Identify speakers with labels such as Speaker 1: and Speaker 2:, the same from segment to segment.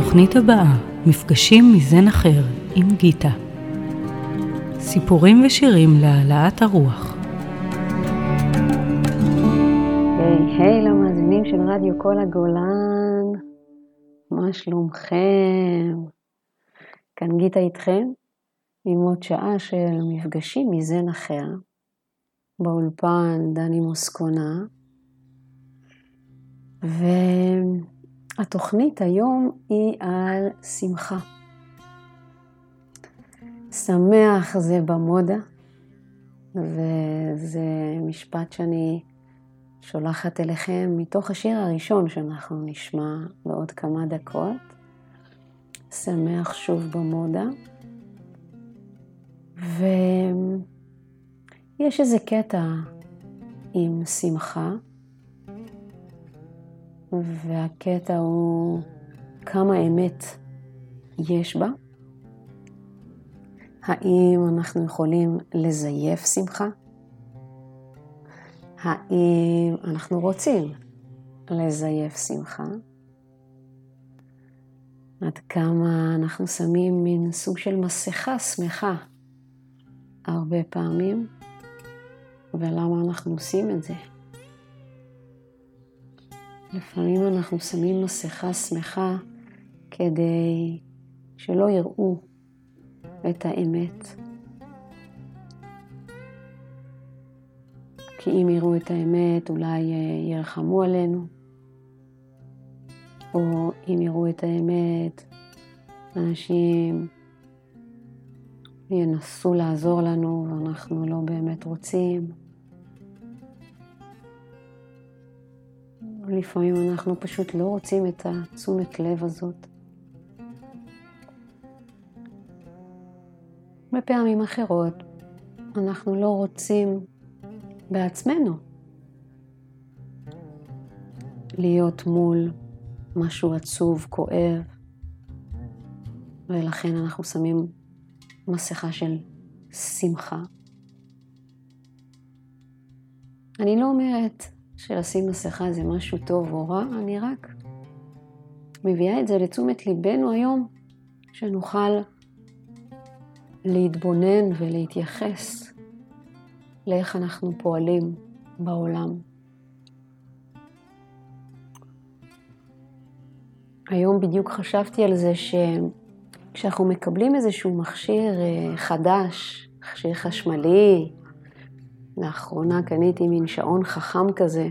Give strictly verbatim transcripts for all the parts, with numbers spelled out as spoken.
Speaker 1: בתוכנית הבאה, מפגשים מזן אחר עם גיטה. סיפורים ושירים להעלאת הרוח.
Speaker 2: היי היי למאזינים של רדיו כל הגולן, מה שלומכם? כאן גיטה איתכם עם עוד שעה של מפגשים מזן אחר. באולפן דני מוסקונה, והתוכנית היום היא על שמחה. שמח זה במודה, וזה משפט שאני שולחת אליכם מתוך השיר הראשון שאנחנו נשמע בעוד כמה דקות. שמח שוב במודה. ויש איזה קטע עם שמחה, והקטע הוא כמה אמת יש בה. האם אנחנו יכולים לזייף שמחה? האם אנחנו רוצים לזייף שמחה? עד כמה אנחנו שמים מין סוג של מסכה שמחה הרבה פעמים, ולמה אנחנו עושים את זה? לפעמים אנחנו שמים מסכה שמחה כדי שלא יראו את האמת. כי אם יראו את האמת אולי ירחמו עלינו, או אם יראו את האמת אנשים ינסו לעזור לנו ואנחנו לא באמת רוצים. לפעמים אנחנו פשוט לא רוצים את התשומת לב הזאת. בפעמים אחרות אנחנו לא רוצים בעצמנו להיות מול משהו עצוב, כואב, ולכן אנחנו שמים מסכה של שמחה. אני לא אומרת שלשים מסכה זה משהו טוב או רע, אני רק מביאה את זה לתשומת ליבנו היום, שנוכל להתבונן ולהתייחס לאיך אנחנו פועלים בעולם. היום בדיוק חשבתי על זה שכשאנחנו מקבלים איזשהו מכשיר חדש, מכשיר חשמלי, לאחרונה קניתי מין שעון חכם כזה,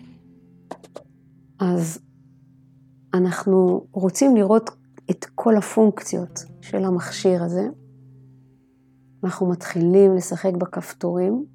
Speaker 2: אז אנחנו רוצים לראות את כל הפונקציות של המכשיר הזה. אנחנו מתחילים לשחק בכפתורים,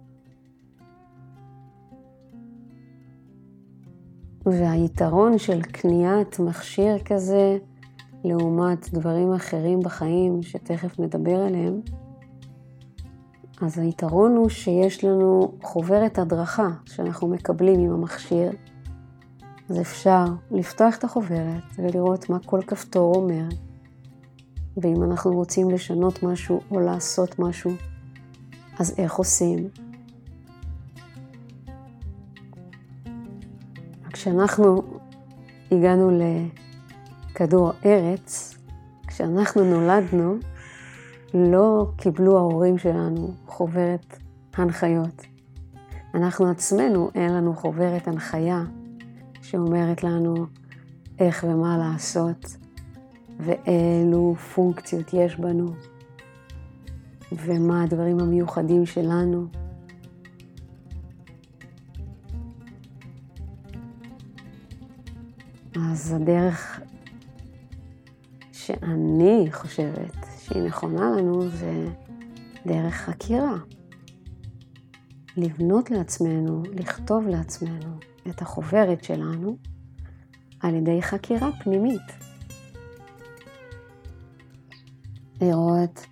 Speaker 2: והיתרון של קניית מכשיר כזה לעומת דברים אחרים בחיים שתכף נדבר עליהם, אז היתרון הוא שיש לנו חוברת הדרכה שאנחנו מקבלים עם המכשיר. אז אפשר לפתוח את החוברת ולראות מה כל כפתור אומר. ואם אנחנו רוצים לשנות משהו או לעשות משהו, אז איך עושים? כשאנחנו הגענו לכדור ארץ, כשאנחנו נולדנו, לא קיבלו ההורים שלנו חוברת הנחיות. אנחנו עצמנו אין לנו חוברת הנחיה שאומרת לנו איך ומה לעשות, ואילו פונקציות יש בנו, ומה הדברים המיוחדים שלנו. אז הדרך שאני חושבת שהיא נכונה לנו זה דרך חקירה. לבנות לעצמנו, לכתוב לעצמנו את החוברת שלנו על ידי חקירה פנימית. לראות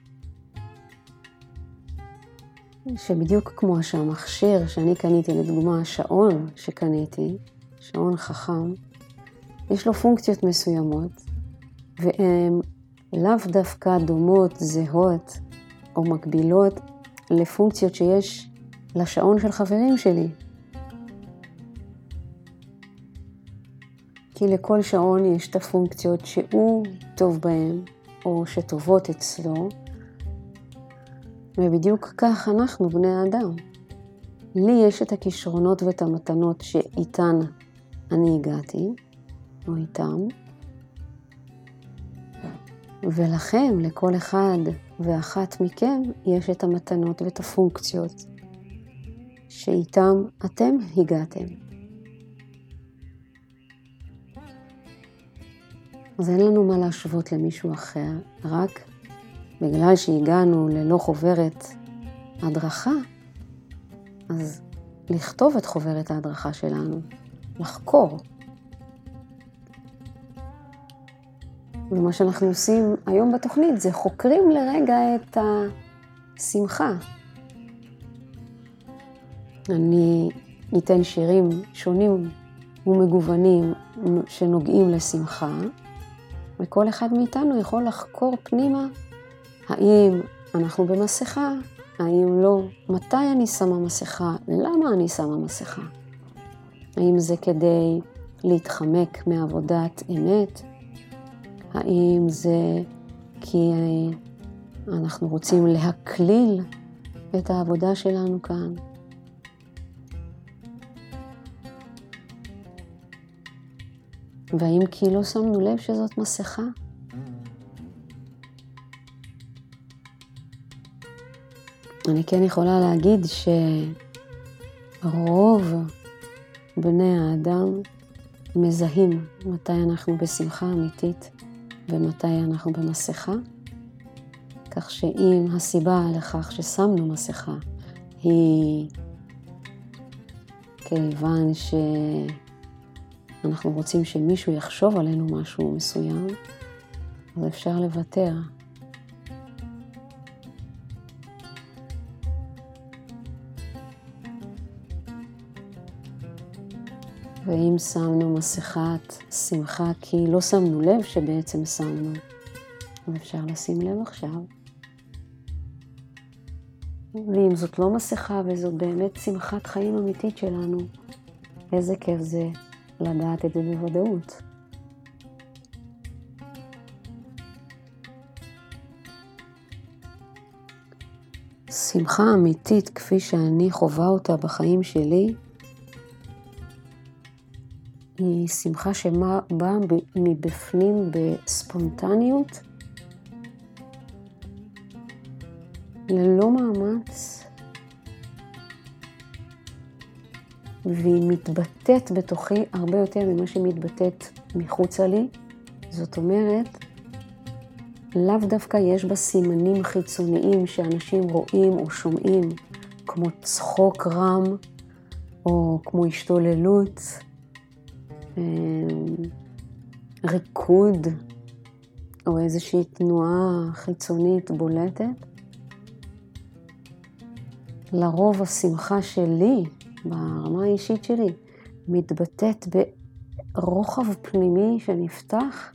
Speaker 2: שבדיוק כמו שהמכשיר שאני קניתי, לדוגמה השעון שקניתי, שעון חכם, יש לו פונקציות מסוימות, והן לאו דווקא דומות, זהות או מקבילות לפונקציות שיש לשעון של חברים שלי. כי לכל שעון יש את הפונקציות שהוא טוב בהן, או שטובות אצלו, ובדיוק כך אנחנו בני האדם. לי יש את הכישרונות ואת המתנות שאיתן אני הגעתי, או איתם, ולכם, לכל אחד ואחת מכם, יש את המתנות ואת הפונקציות שאיתם אתם הגעתם. אז אין לנו מה להשוות למישהו אחר, רק בגלל שהגענו ללא חוברת הדרכה, אז לכתוב את חוברת ההדרכה שלנו, לחקור. ומה שאנחנו עושים היום בתוכנית זה חוקרים לרגע את השמחה. אני ניתן שירים שונים ומגוונים שנוגעים לשמחה, וכל אחד מאיתנו יכול לחקור פנימה האם אנחנו במסכה, האם לא, מתי אני שמה מסכה, למה אני שמה מסכה. האם זה כדי להתחמק מעבודת אמת, האם זה כי אנחנו רוצים להקליל את העבודה שלנו כאן. והאם כי לא שמנו לב שזאת מסכה? אני כן יכולה להגיד שרוב בני האדם מזהים מתי אנחנו בשמחה אמיתית ומתי אנחנו במסכה, כך שאם הסיבה לכך ששמנו מסכה היא כיוון שאנחנו רוצים שמישהו יחשוב עלינו משהו מסוים, אז אפשר לוותר. ואם שמנו מסכת שמחה כי לא שמנו לב שבעצם שמנו, אז אפשר לשים לב עכשיו. ואם זאת לא מסכה וזאת באמת שמחת חיים אמיתית שלנו, איזה כיף זה לדעת את זה בוודאות. שמחה אמיתית כפי שאני חווה אותה בחיים שלי, היא שמחה שבאה מבפנים בספונטניות, ללא מאמץ, והיא מתבטאת בתוכי הרבה יותר ממה שמתבטאת מחוצה לי. זאת אומרת, לאו דווקא יש בה סימנים חיצוניים שאנשים רואים או שומעים, כמו צחוק רם או כמו השתוללות, ריקוד או איזושהי תנועה חיצונית בולטת. לרוב השמחה שלי, ברמה האישית שלי, מתבטאת ברוחב פנימי שנפתח,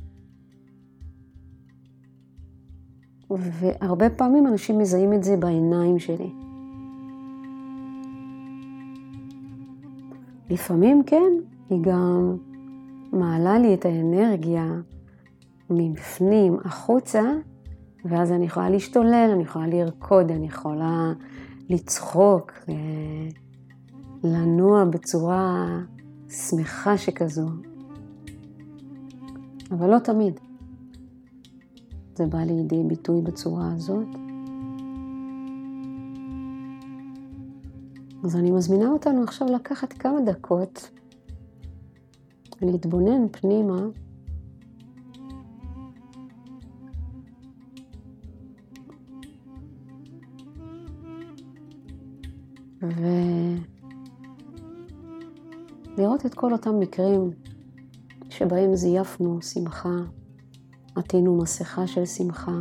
Speaker 2: והרבה פעמים אנשים מזהים את זה בעיניים שלי. לפעמים כן, היא גם מעלה לי את האנרגיה מבפנים החוצה, ואז אני יכולה להשתולל, אני יכולה לרקוד, אני יכולה לצחוק, לנוע בצורה שמחה שכזו. אבל לא תמיד. זה בא לידי ביטוי בצורה הזאת. אז אני מזמינה אותנו עכשיו לקחת כמה דקות להתבונן פנימה ולראות את כל אותם מקרים שבהם זייפנו שמחה, עטינו מסכה של שמחה,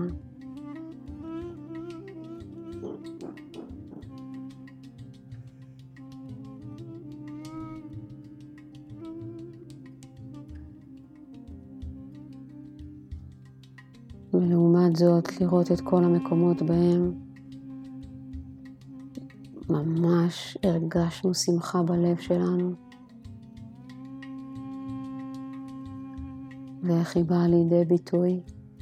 Speaker 2: ולעומת זאת לראות את כל המקומות בהם ממש הרגשנו שמחה בלב שלנו. ואיך היא באה לידי ביטוי.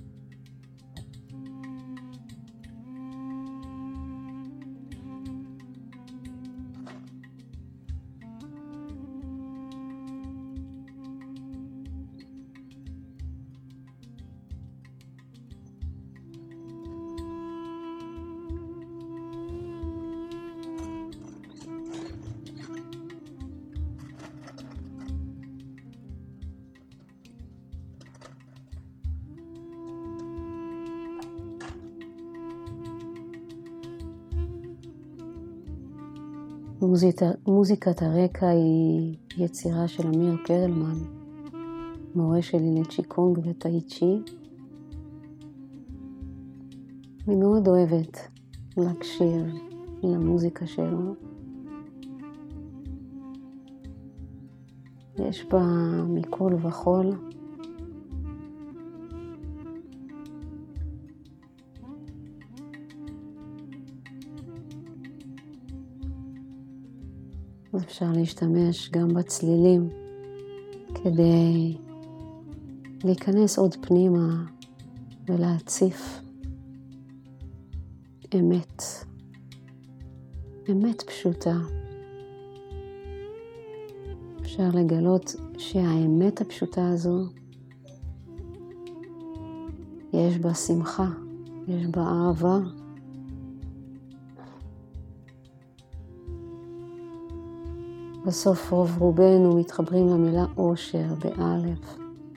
Speaker 2: מוזיקת, מוזיקת הרקע היא יצירה של אמיר פרלמן, מורה שלי לצ'יקונג וטאי צ'י. אני מאוד אוהבת להקשיב למוזיקה שלו. יש בה מכל וכל. אפשר להשתמש גם בצלילים כדי להיכנס עוד פנימה ולהציף אמת, אמת פשוטה. אפשר לגלות שהאמת הפשוטה הזו יש בה שמחה, יש בה אהבה. בסוף רוב רובנו מתחברים למילה אושר באלף.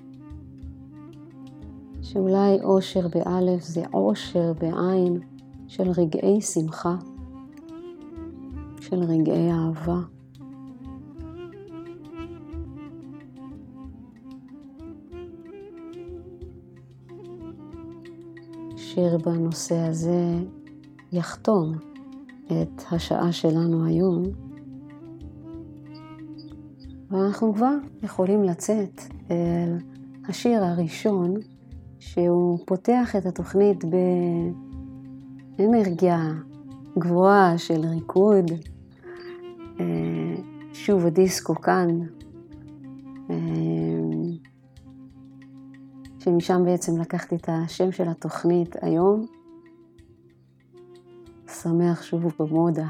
Speaker 2: שאולי אושר באלף זה אושר בעין של רגעי שמחה, של רגעי אהבה. שיר בנושא הזה יחתום את השעה שלנו היום. ואנחנו כבר יכולים לצאת אל השיר הראשון, שהוא פותח את התוכנית באנרגיה גבוהה של ריקוד. שוב הדיסקו כאן, שמשם בעצם לקחתי את השם של התוכנית היום. שמח שוב במודה.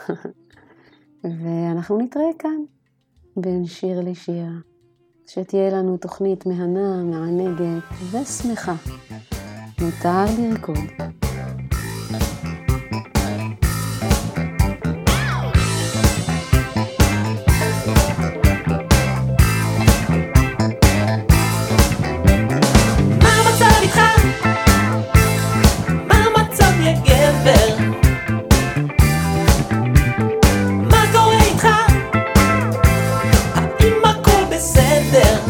Speaker 2: ואנחנו נתראה כאן. בין שיר לשיר, שתהיה לנו תוכנית מהנה, מענגת ושמחה. מותר לרקוד.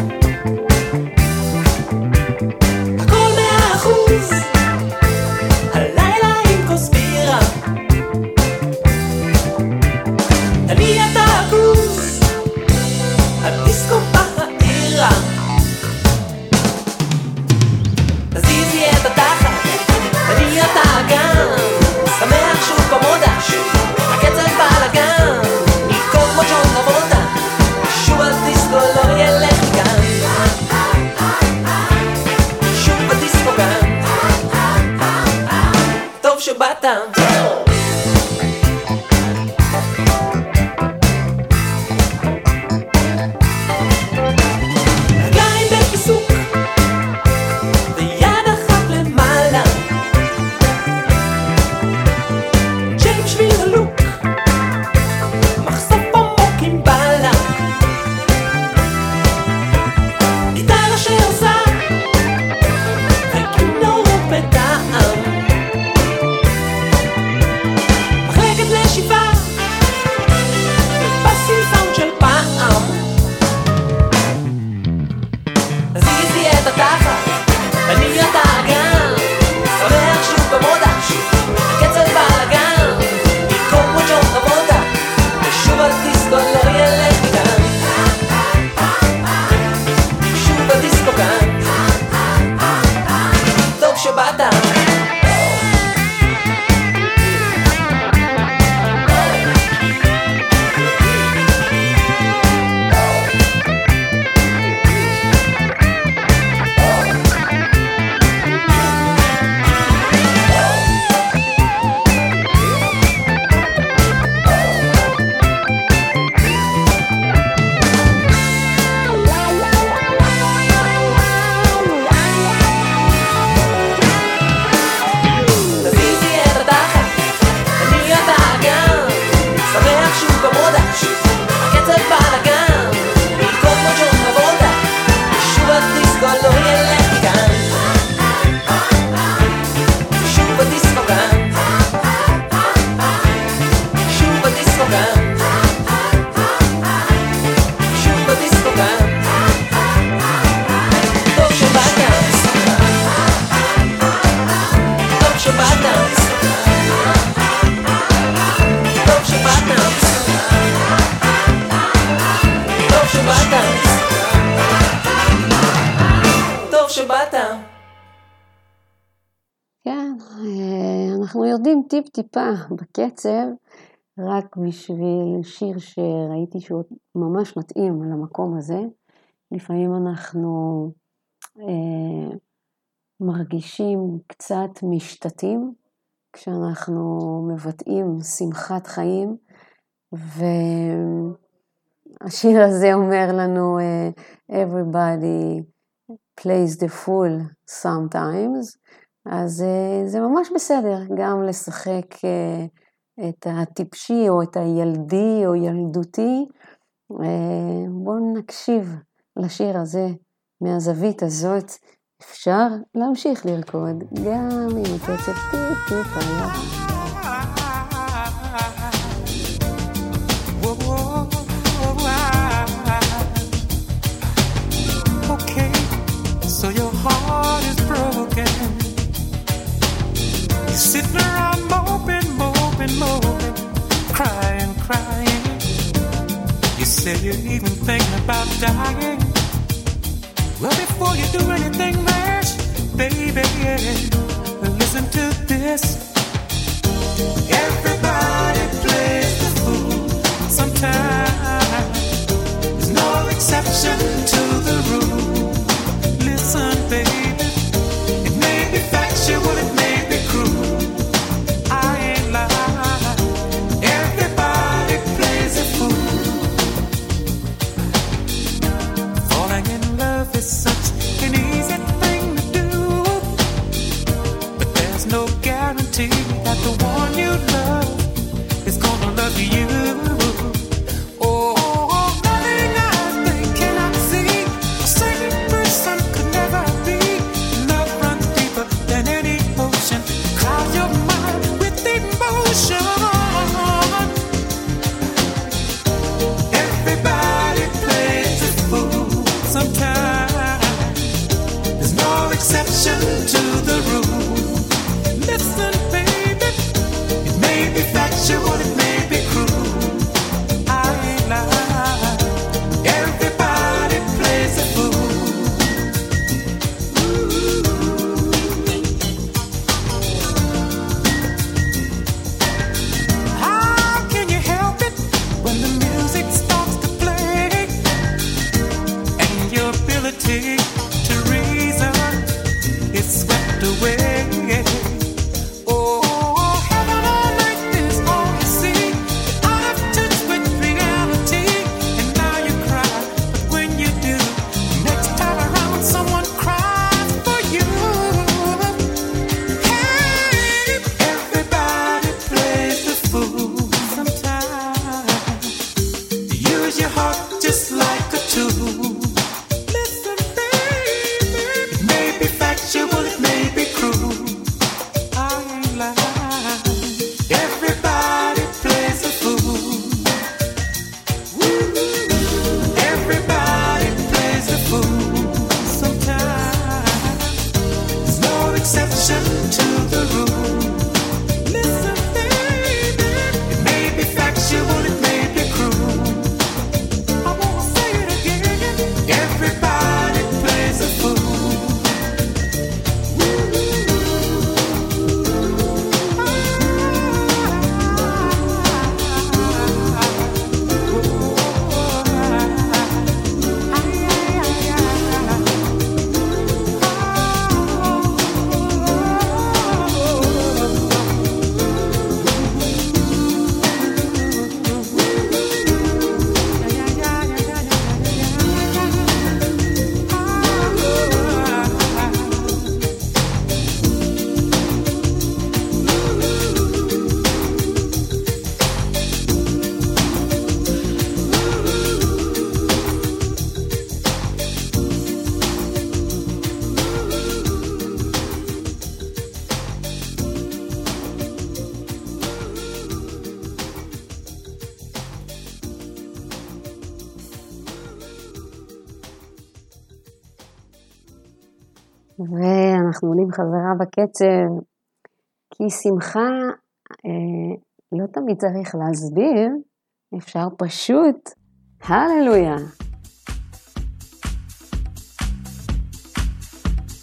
Speaker 3: הכל מאה אחוז שבאת.
Speaker 2: כן, אנחנו יורדים טיפ טיפה בקצב, רק בשביל שיר שראיתי שהוא ממש מתאים למקום הזה. לפעמים אנחנו אה, מרגישים קצת משתתים, כשאנחנו מבטאים שמחת חיים, והשיר הזה אומר לנו, everybody plays the fool sometimes, אז זה ממש בסדר, גם לשחק את הטיפשי או את הילדי או ילדותי. בואו נקשיב לשיר הזה מהזווית הזאת, אפשר להמשיך לרקוד גם עם הקצב טיפ טיפ היה.
Speaker 3: Okay, so your heart is broken. You're sitting around moping, moping, moping, crying, crying. You say you're even thinking about dying. Well, before you do anything rash, baby, listen to this. Everybody plays the fool sometimes. There's no exception to the rule. Listen, baby, it may be factual, it may be cruel. I ain't lying. Everybody plays a fool. Falling in love is such an easy thing to do, but there's no guarantee that the one you love is gonna love you. To the rule. Listen, baby, it may be factual, it may be cruel. I ain't lying. Everybody plays a fool. How can you help it when the music starts to play and your ability to reason is swept away? Oh, heaven on earth is all you see. I've touched with reality, and now you cry. But when you do, next time around, someone cries for you. Hey, everybody plays the fool sometimes. Use your heart just like a tool. It may be cruel. I ain't lying. Everybody plays a fool. Everybody plays a fool sometimes. There's no exception to the rule. Listen, baby, it may be factual, it may be cruel. I wanna say it again. Everybody plays a fool.
Speaker 2: ואנחנו עולים חזרה בקצב, כי שמחה אה, לא תמיד צריך להסביר, אפשר פשוט, הללויה.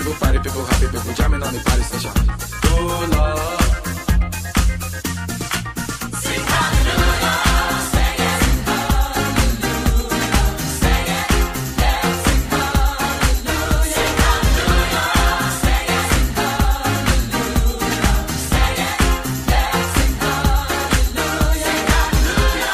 Speaker 4: people, party people, happy people, jamming on the party station. Oh Lord. Sing hallelujah, sing it, hallelujah, sing it, yeah, sing hallelujah, sing hallelujah, sing it, hallelujah, sing it, yeah, sing hallelujah, sing hallelujah.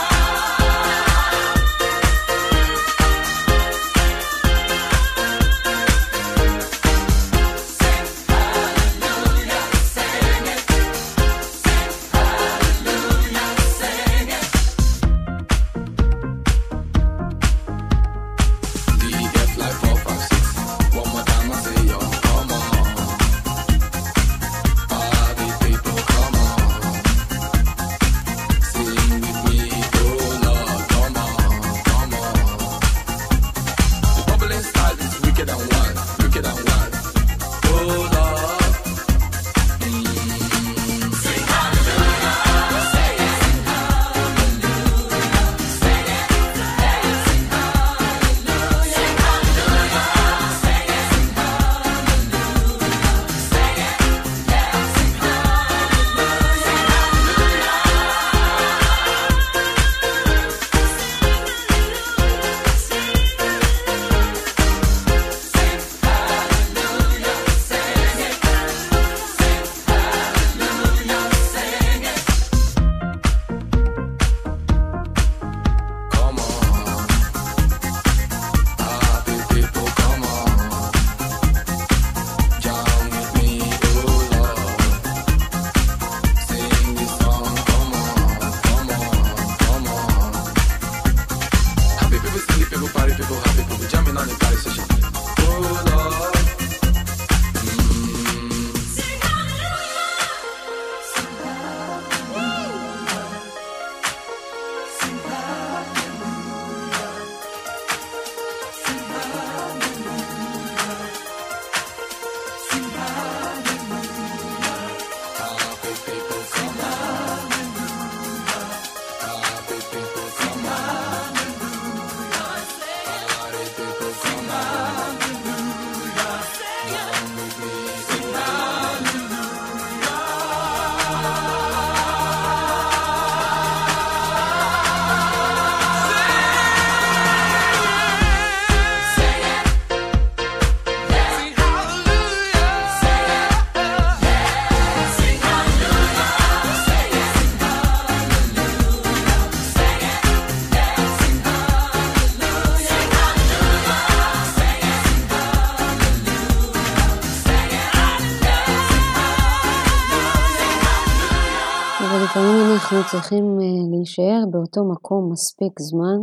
Speaker 2: לפעמים אנחנו צריכים להישאר באותו מקום מספיק זמן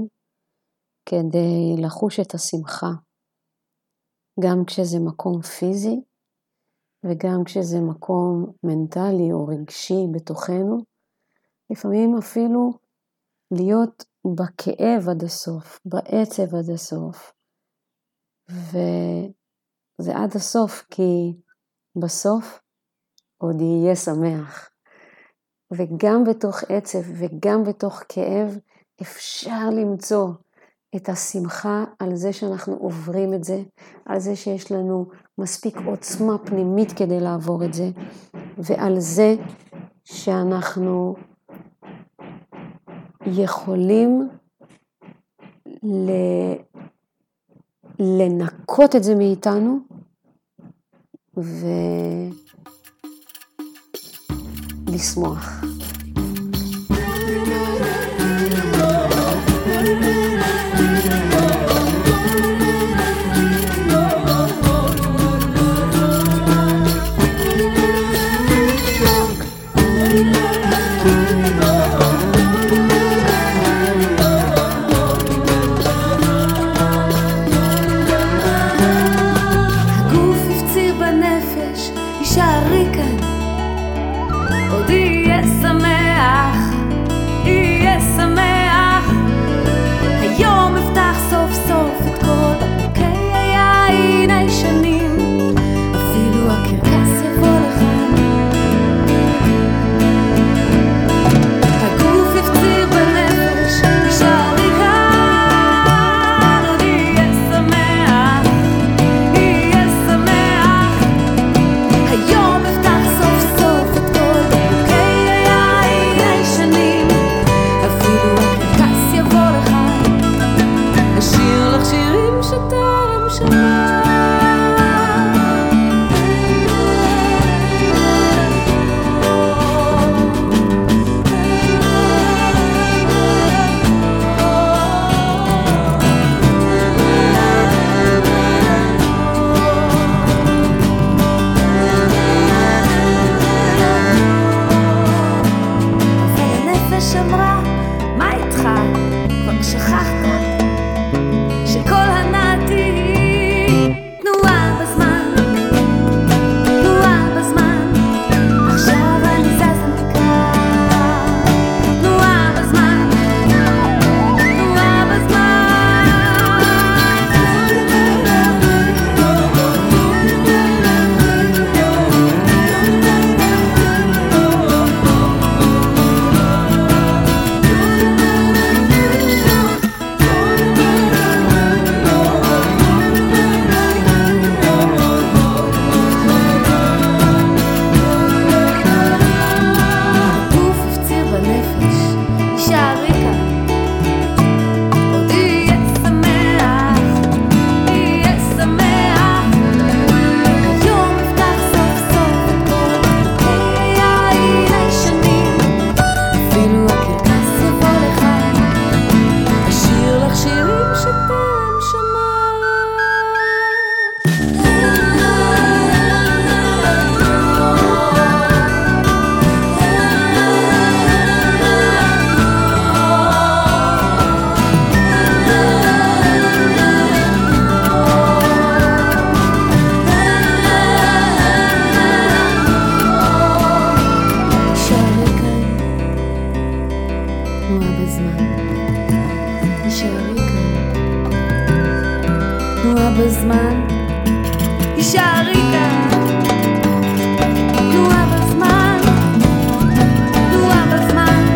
Speaker 2: כדי לחוש את השמחה, גם כשזה מקום פיזי וגם כשזה מקום מנטלי או רגשי בתוכנו, לפעמים אפילו להיות בכאב עד הסוף, בעצב עד הסוף, וזה עד הסוף כי בסוף עוד יהיה שמח. וגם בתוך עצב וגם בתוך כאב אפשר למצוא את השמחה על זה שאנחנו עוברים את זה, על זה שיש לנו מספיק עוצמה פנימית כדי לעבור את זה, ועל זה שאנחנו יכולים לנקות את זה מאיתנו ולשמוח.
Speaker 5: תישארי כאן. תנועה בזמן, תנועה בזמן.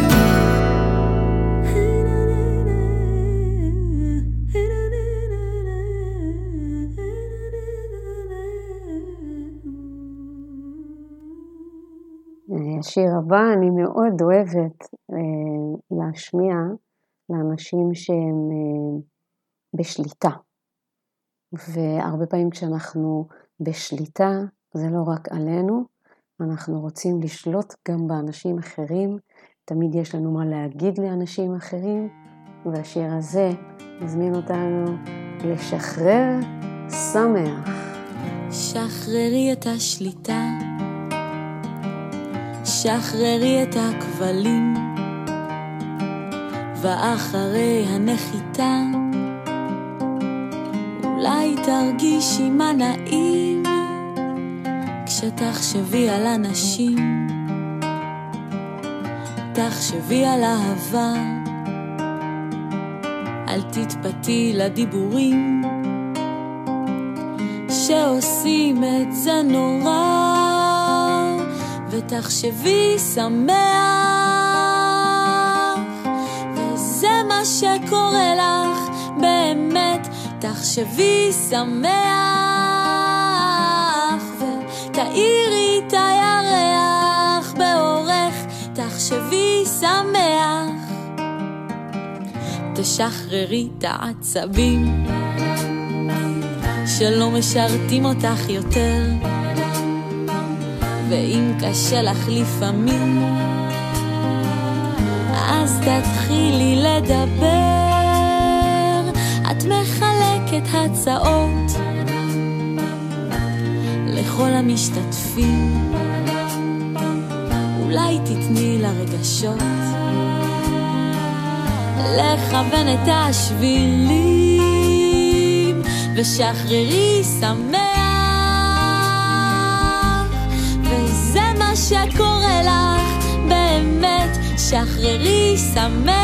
Speaker 2: השיר הבא אני מאוד אוהבת אה, להשמיע לאנשים שהם אה, בשליטה. והרבה פעמים כשאנחנו בשליטה, זה לא רק עלינו, אנחנו רוצים לשלוט גם באנשים אחרים, תמיד יש לנו מה להגיד לאנשים אחרים, והשיר הזה מזמין אותנו לשחרר שמח.
Speaker 5: שחררי את השליטה, שחררי את הכבלים, ואחרי הנחיתה אולי תרגישי מה נעים, כשתחשבי על אנשים, תחשבי על אהבה, אל תתפתי לדיבורים שעושים את זה נורא, ותחשבי שמח, וזה מה שקורה לך באמת, תחשבי שמח, ותאירי את הירח באורך, תחשבי שמח, תשחררי את העצבים שלא משרתים אותך יותר, ואם קשה לך לפעמים, אז תתחילי לדבר, את מחלקת הצעות לכל המשתתפים, אולי תתני לרגשות לכוון את השבילים, ושחררי שמח, וזה מה שקורה לך באמת, שחררי שמח,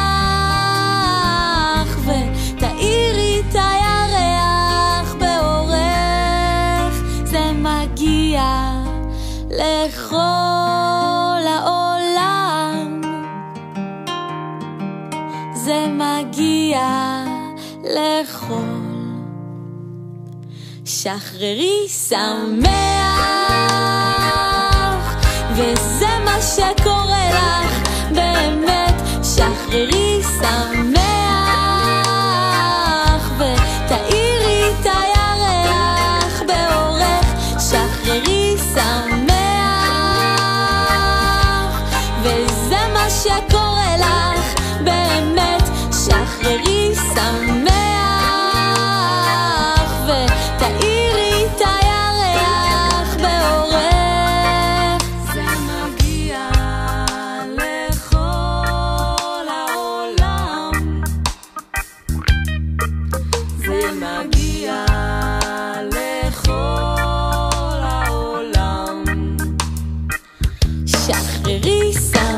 Speaker 5: ותאירי את הירח באורך, זה מגיע לכל העולם, זה מגיע לכל, שחררי שמח, וזה מה שקורה לך באמת, שחררי שמח, ותאירי את הירח באורך, שחררי שמח, וזה מה שקורה לך באמת, שחררי שמח, ותאירי את הירח באורך, זה מגיע לכל העולם, זה מגיע לכל העולם, שחררי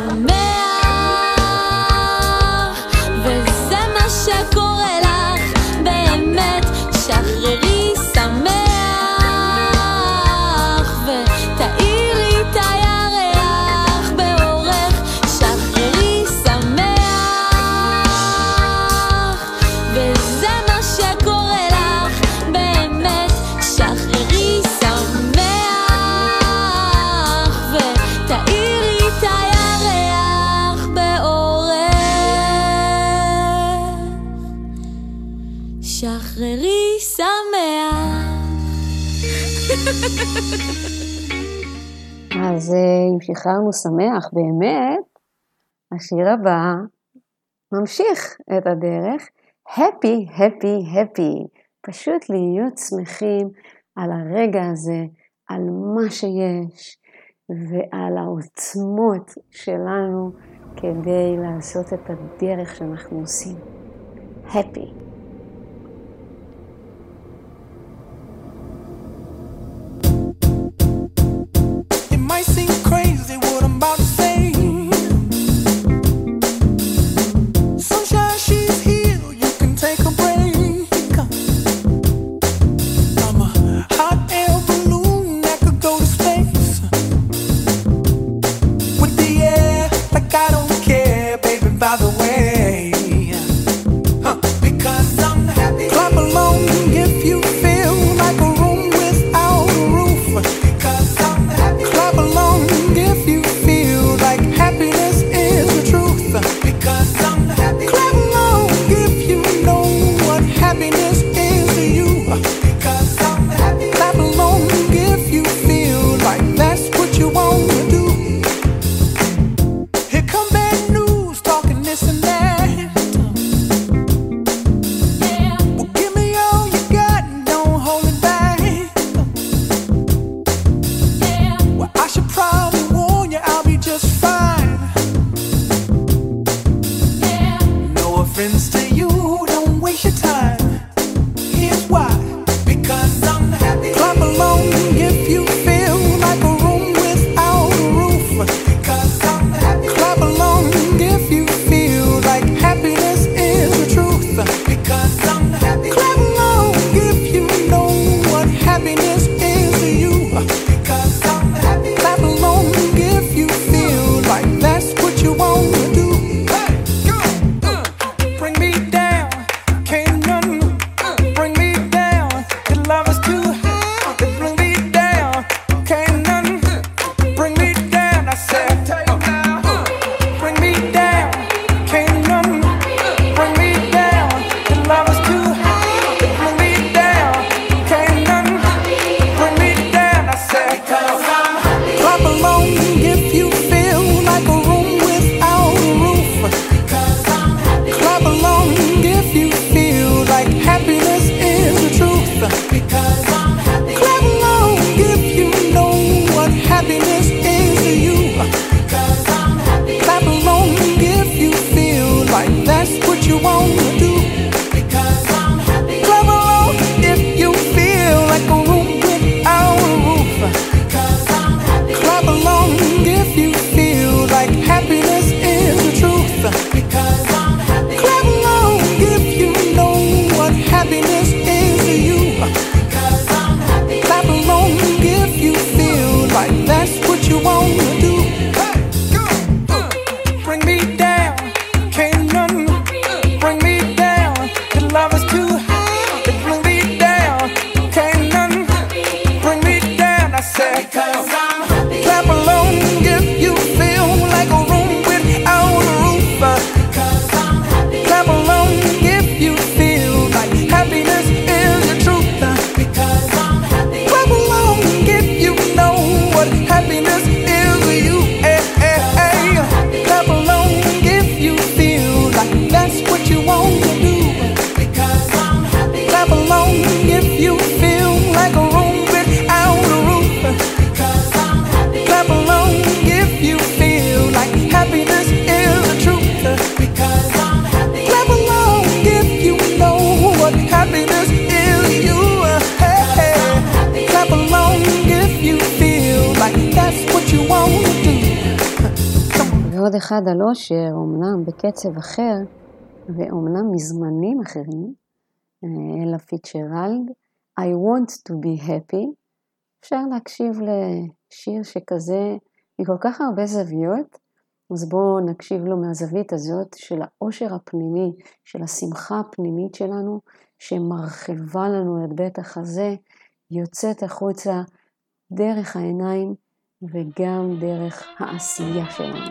Speaker 5: שמח, וזה מה שקורה לך באמת, שחררי שמח, ותאירי את הירח באורך, שחררי שמח, וזה מה שקורה לך באמת, שחררי שמח, ותאירי את הירח באורך, שחררי שמח.
Speaker 2: אז אה, אם שחררנו שמח באמת, השיר הבא ממשיך את הדרך, happy, happy, happy, פשוט להיות שמחים על הרגע הזה, על מה שיש, ועל העוצמות שלנו כדי לעשות את הדרך שאנחנו עושים. happy.
Speaker 3: It might seem crazy what I'm about to say. Sunshine, she's here, you can take a break. I'm a hot
Speaker 2: מצד אחד על אושר, אומנם בקצב אחר, ואומנם מזמנים אחרים, אלה פיצ'רלד, I want to be happy, אפשר להקשיב לשיר שכזה מכל כך הרבה זוויות, אז בואו נקשיב לו מהזווית הזאת של האושר הפנימי, של השמחה הפנימית שלנו, שמרחיבה לנו את בית החזה, יוצאת החוצה דרך העיניים וגם דרך העשייה שלנו.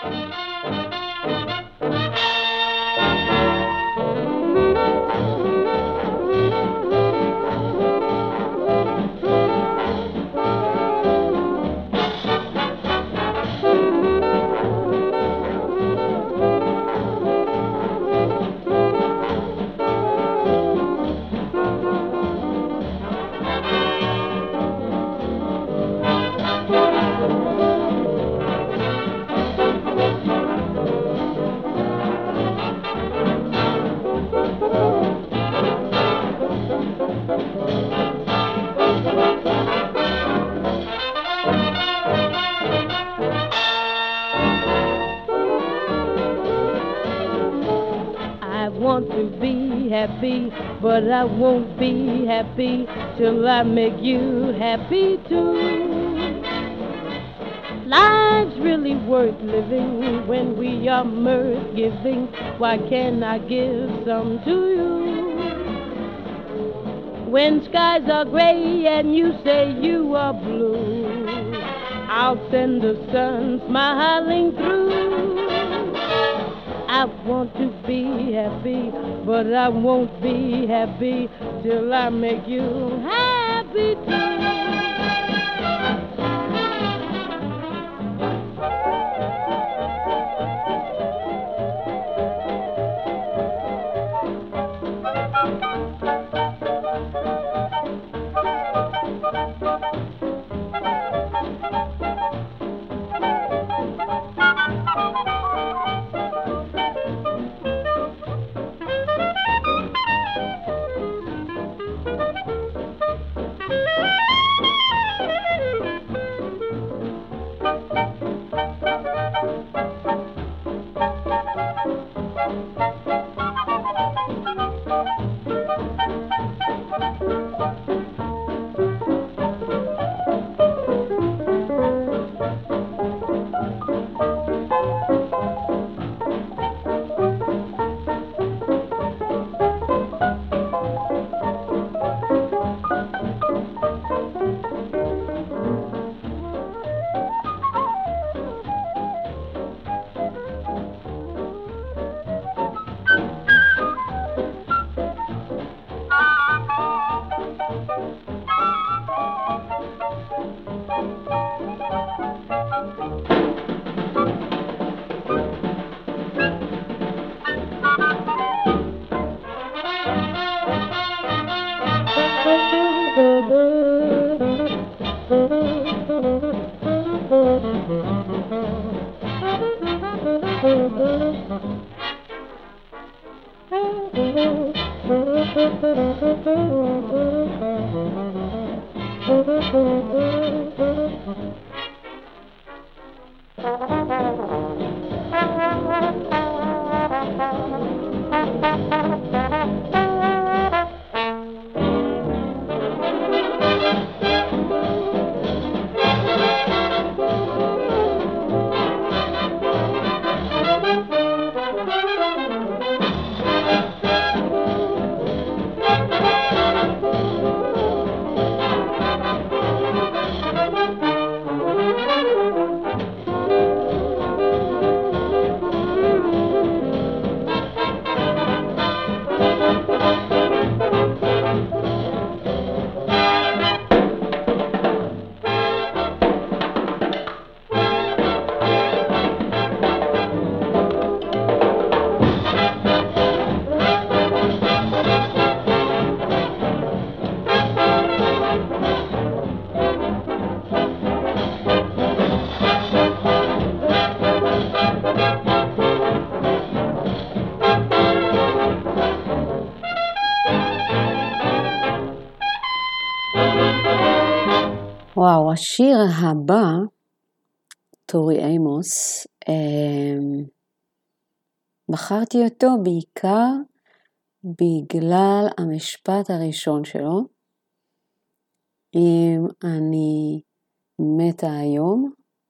Speaker 6: Happy, but I won't be happy till I make you happy too. Life's really worth living when we are mirth giving. Why can't I give some to you? When skies are gray and you say you are blue, I'll send the sun smiling through. I want to be happy, but I won't be happy till I make you happy too.
Speaker 2: וואו, השיר הבא, טורי אימוס, בחרתי אותו בעיקר בגלל המשפט הראשון שלו, אם אני מתה היום,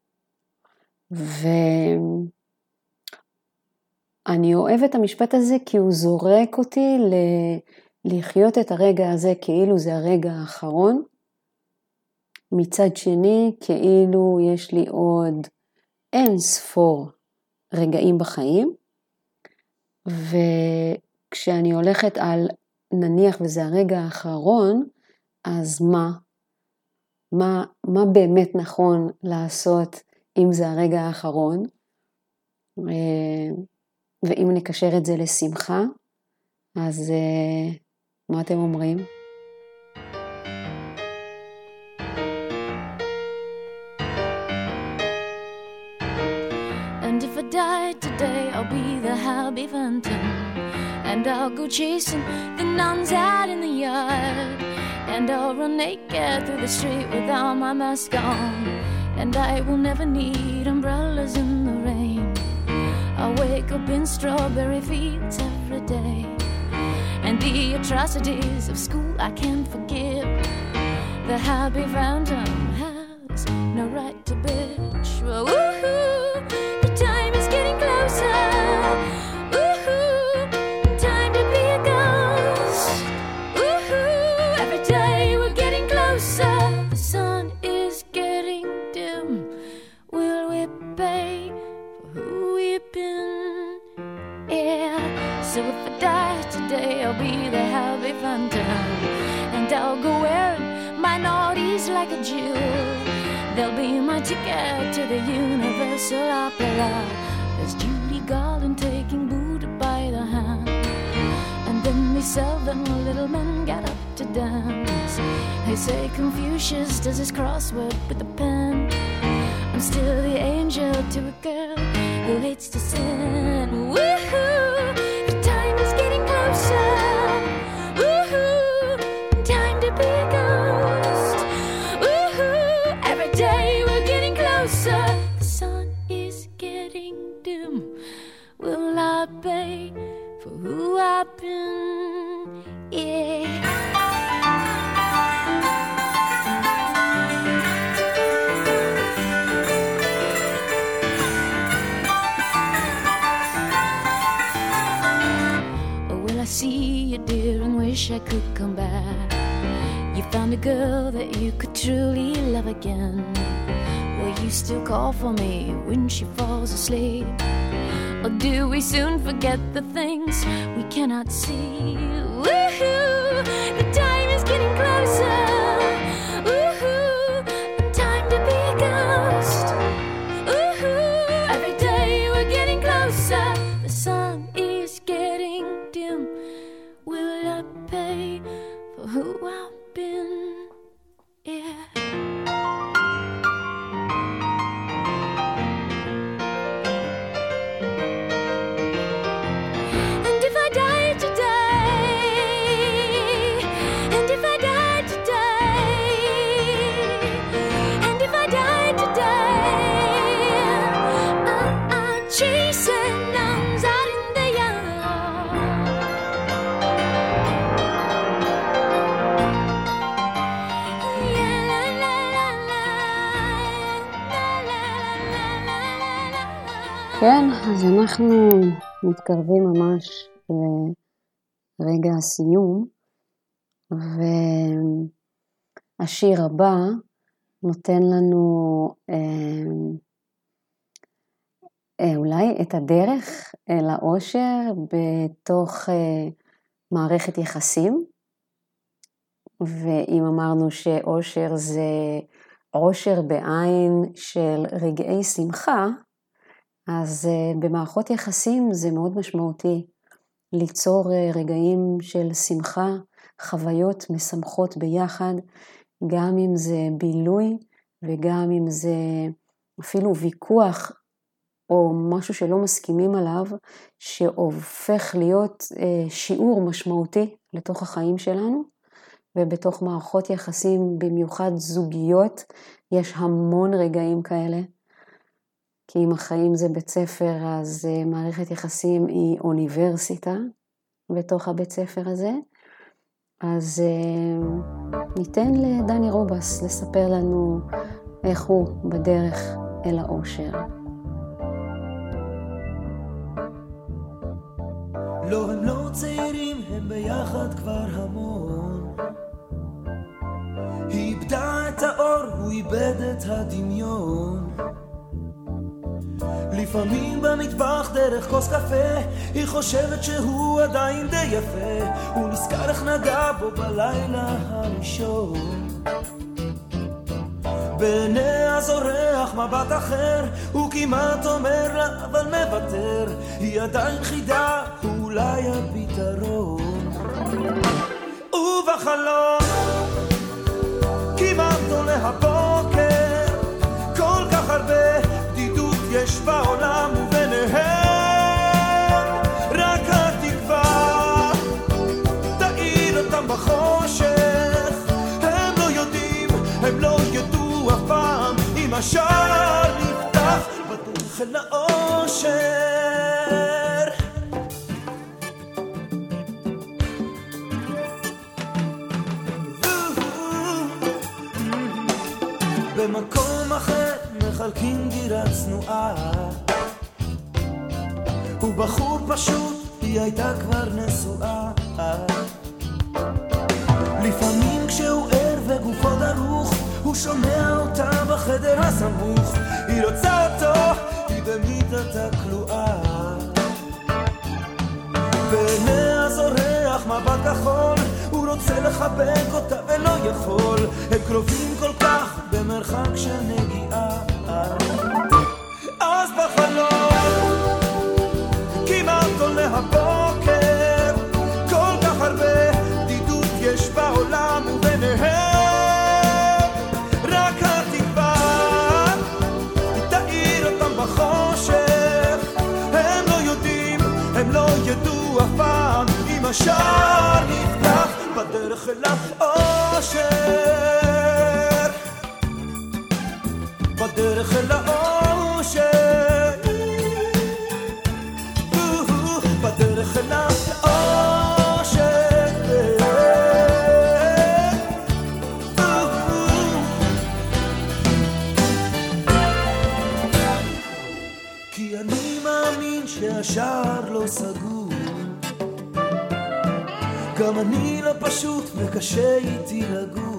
Speaker 2: ואני אוהבת את המשפט הזה כי הוא זורק אותי ל- לחיות את הרגע הזה כאילו זה הרגע האחרון, מצד שני כאילו יש לי עוד אין ספור רגעים בחיים, וכשאני הולכת על נניח וזה הרגע האחרון, אז מה? מה, מה באמת נכון לעשות אם זה הרגע האחרון? ואם נקשר את זה לשמחה, אז מה אתם אומרים?
Speaker 5: And if I die today, I'll be the Happy Phantom. And I'll go chasing the nuns out in the yard. And I'll run naked through the street without my mask on. And I will never need umbrellas in the rain. I'll wake up in strawberry fields every day. And the atrocities of school I can't forgive. The Happy Phantom has no right to bitch. Well, woohoo, the time is getting closer. Woohoo, time to be a ghost. Woohoo, every day we're getting closer. The sun is getting dim. Will we pay for who we've been? Yeah, so if I die today, I'll be the Happy Phantom. And I'll go wearing my naughties like a Jew. They'll be my ticket to the Universal Opera. There's Judy Garland taking Buddha by the hand. And then these seven little men get up to dance. They say Confucius does his crossword with a pen. I'm still the angel to a girl who hates to sin. Woohoo, the time is getting closer. Woohoo, time to be a ghost. Woohoo, every day we're getting closer. The sun is getting dim. Will I pay for who I've been? Yeah. I see you, dear, and wish I could come back. You found a girl that you could truly love again. Will you still call for me when she falls asleep? Or do we soon forget the things we cannot see? Woohoo, the time is getting closer. Woohoo, time to be a ghost. Woohoo, every day we're getting closer. The sun is getting dim. Will I pay for who I've been? Yeah. And if I die today, and if I die today, and if I die today, I'm, I'm chasing nuns out in the yard. Yeah, la, la, la, la, la, la, la, la, la, la.
Speaker 2: כן, אז אנחנו מתקרבים ממש לרגע הסיום, והשיר הבא נותן לנו אה, אה, אולי את הדרך אל האושר בתוך אה, מערכת יחסים, ואם אמרנו שאושר זה עושר בעין של רגעי שמחה, אז uh, במערכות יחסים זה מאוד משמעותי ליצור uh, רגעים של שמחה, חוויות משמחות ביחד, גם אם זה בילוי וגם אם זה אפילו ויכוח או משהו שלא מסכימים עליו, שהופך להיות uh, שיעור משמעותי לתוך החיים שלנו, ובתוך מערכות יחסים, במיוחד זוגיות, יש המון רגעים כאלה. כי אם החיים זה בית ספר, אז מערכת יחסים היא אוניברסיטה בתוך הבית ספר הזה. אז ניתן לדני רובס לספר לנו איך הוא בדרך אל האושר.
Speaker 7: לא, הם לא צעירים, הם ביחד כבר המון. היא איבדה את האור, הוא איבד את הדמיון. לפעמים במטבח דרך כוס קפה היא חושבת שהוא עדיין די יפה. הוא נזכר איך נגע בו בלילה הראשון. בעיניה זורח מבט אחר, הוא כמעט אומר לה אבל מוותר. היא עדיין חידה, הוא אולי הפתרון. ובחלום כמעט עולה הבוקר, כל כך הרבה בדידות יש בעולם וביניהם רק התקווה תאיר אותם בחושך. הם לא יודעים, הם לא ידעו אף פעם אם השער נפתח בדרך אל האושר. במקום אחר מחלקים דירה צנועה, הוא בחור פשוט, היא הייתה כבר נשואה. לפעמים כשהוא ער וגופו דרוך, הוא שומע אותה בחדר הסמוך. היא רוצה אותו, היא במיטתה כלואה. בעיניה זורח מבט כחול, הוא רוצה לחבק אותה ולא יכול. הם קרובים כל כך במרחק של נגיעה. אז בחלום כמעט עולה הבוקר, כל כך הרבה בדידות יש בעולם וביניהם רק התקווה תאיר אותם בחושך. הם לא יודעים, הם לא ידעו אף פעם אם השער נפתח בדרך אל האושר. בדרך אל האושר, בדרך אל האושר. כי אני מאמין שהשער לא סגור, גם אני לא פשוט וקשה איתי לגור.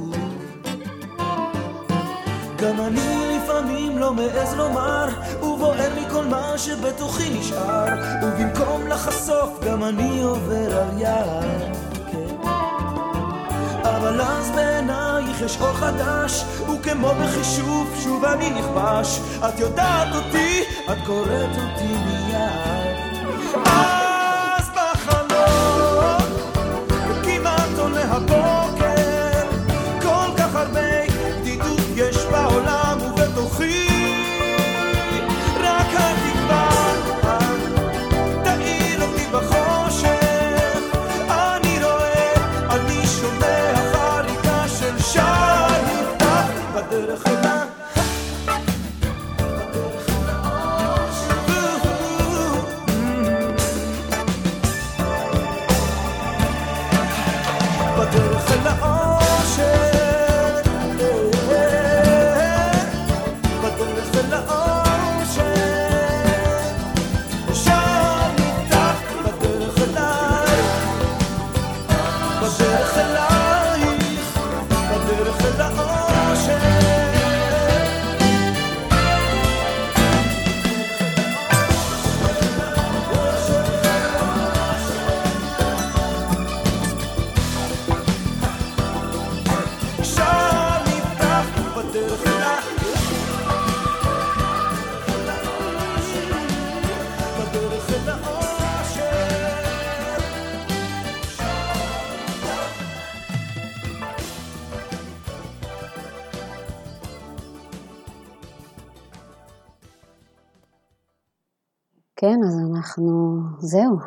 Speaker 7: גם אני לפעמים לא מעז לומר, ובוער מכל מה שבתוכי נשאר. ובמקום לחשוף גם אני עובר על יד, כן. אבל אז בעינייך יש אור חדש, וכמו בחישוב שוב אני נכבש. את יודעת אותי, את קוראת אותי מיד. אז בחלום כמעט עולה הבוקר, כל כך הרבה בדידות יש בעולם ובתוכי רק התקווה תאיר אותי בחושך. אני רואה, אני שומע חריקה של שער נפתח בדרך אל בדרך אל האושר.
Speaker 2: כן, אז אנחנו, זהו.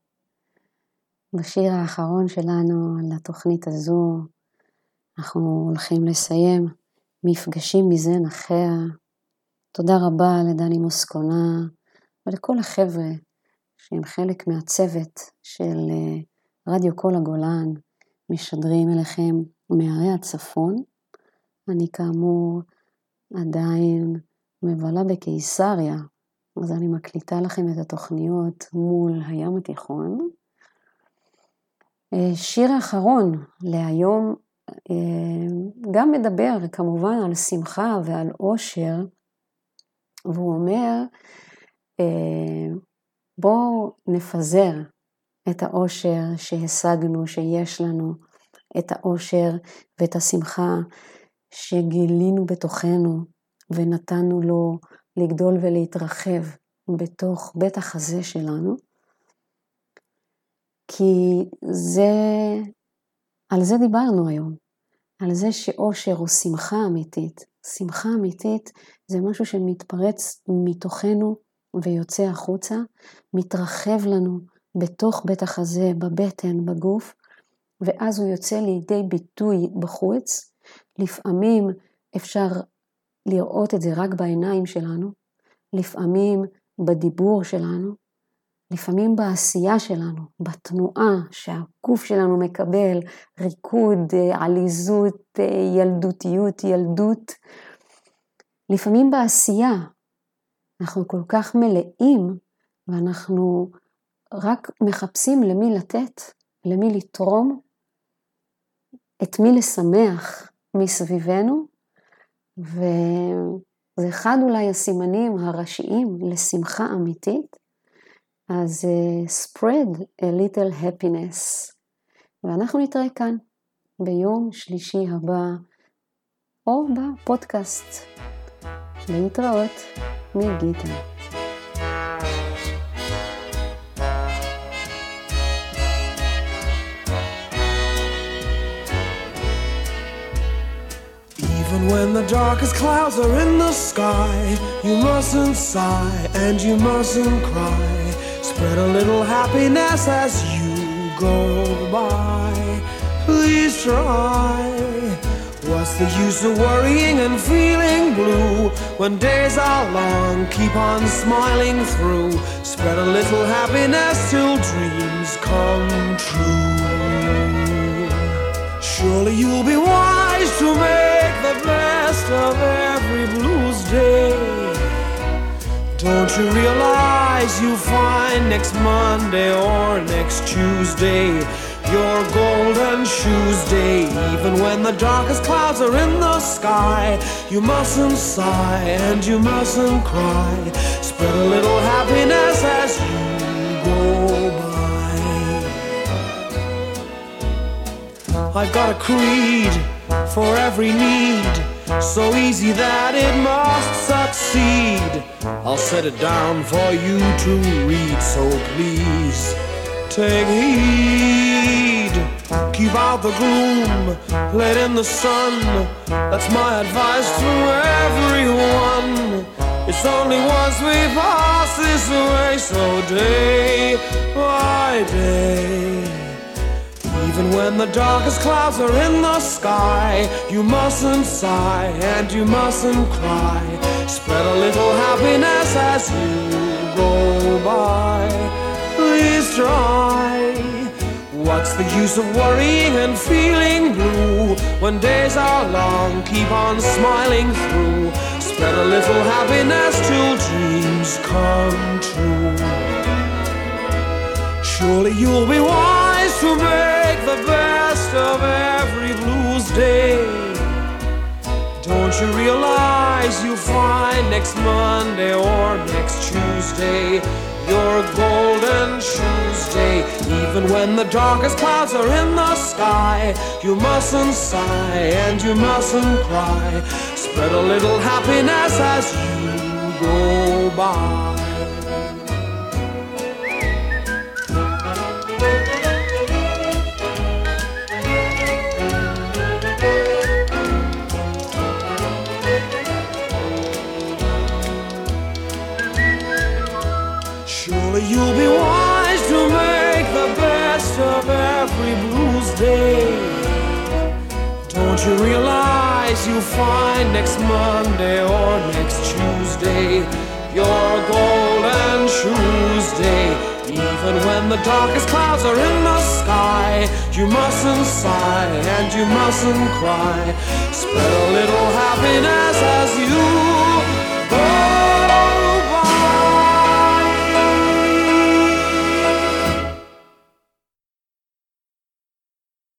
Speaker 2: בשיר האחרון שלנו לתוכנית הזו, אנחנו הולכים לסיים מפגשים מזן אחר. תודה רבה לדני מוסקונה ולכל החבר'ה שהם חלק מהצוות של רדיו כל הגולן, משדרים אליכם מערי הצפון. אני כאמור עדיין מבלה בקיסריה, אז אני מקליטה לכם את התוכניות מול הים התיכון. שיר האחרון להיום גם מדבר כמובן על שמחה ועל אושר, והוא אומר, בואו נפזר את האושר שהשגנו, שיש לנו, את האושר ואת השמחה שגילינו בתוכנו, ונתנו לו לגדול ולהתרחב בתוך בית החזה שלנו, כי זה, על זה דיברנו היום, על זה שאושר הוא שמחה אמיתית. שמחה אמיתית זה משהו שמתפרץ מתוכנו ויוצא החוצה, מתרחב לנו בתוך בית החזה, בבטן, בגוף, ואז הוא יוצא לידי ביטוי בחוץ. לפעמים אפשר לראות את זה רק בעיניים שלנו, לפעמים בדיבור שלנו, לפעמים בעשייה שלנו, בתנועה שהגוף שלנו מקבל, ריקוד, עליזות, ילדותיות, ילדות. לפעמים בעשייה, אנחנו כל כך מלאים, ואנחנו רק מחפשים למי לתת, למי לתרום, את מי לשמח מסביבנו, וזה אחד אולי הסימנים הראשיים לשמחה אמיתית. אז uh, spread a little happiness. ואנחנו נתראה כאן ביום שלישי הבא, או בפודקאסט. להתראות מגיטה.
Speaker 7: Even when the darkest clouds are in the sky, you mustn't sigh and you mustn't cry. Spread a little happiness as you go by. Please try. What's the use of worrying and feeling blue when days are long? Keep on smiling through. Spread a little happiness till dreams come true. Surely you'll be wise to make the best of every blues day. Don't you realize you'll find next Monday or next Tuesday your golden shoes day? Even when the darkest clouds are in the sky, you mustn't sigh and you mustn't cry. Spread a little happiness as you go by. I've got a creed for every need, so easy that it must succeed. I'll set it down for you to read, so please take heed. Keep out the gloom, let in the sun. That's my advice to everyone. It's only once we pass this way, so day by day. Even when the darkest clouds are in the sky, you mustn't sigh and you mustn't cry. Spread a little happiness as you go by. Please try. What's the use of worrying and feeling blue when days are long? Keep on smiling through. Spread a little happiness till dreams come true. Surely you'll be wise to make the best of every blues day. Don't you realize you'll find next Monday or next Tuesday your golden shoes day? Even when the darkest clouds are in the sky, you mustn't sigh and you mustn't cry. Spread a little happiness as you go by. You'll be wise to make the best of every blues day. Don't you realize eyes you'll find next Monday or next Tuesday your golden Tuesday. Even when the darkest clouds are in the sky, you mustn't sigh and you mustn't cry. Spread a little happiness as you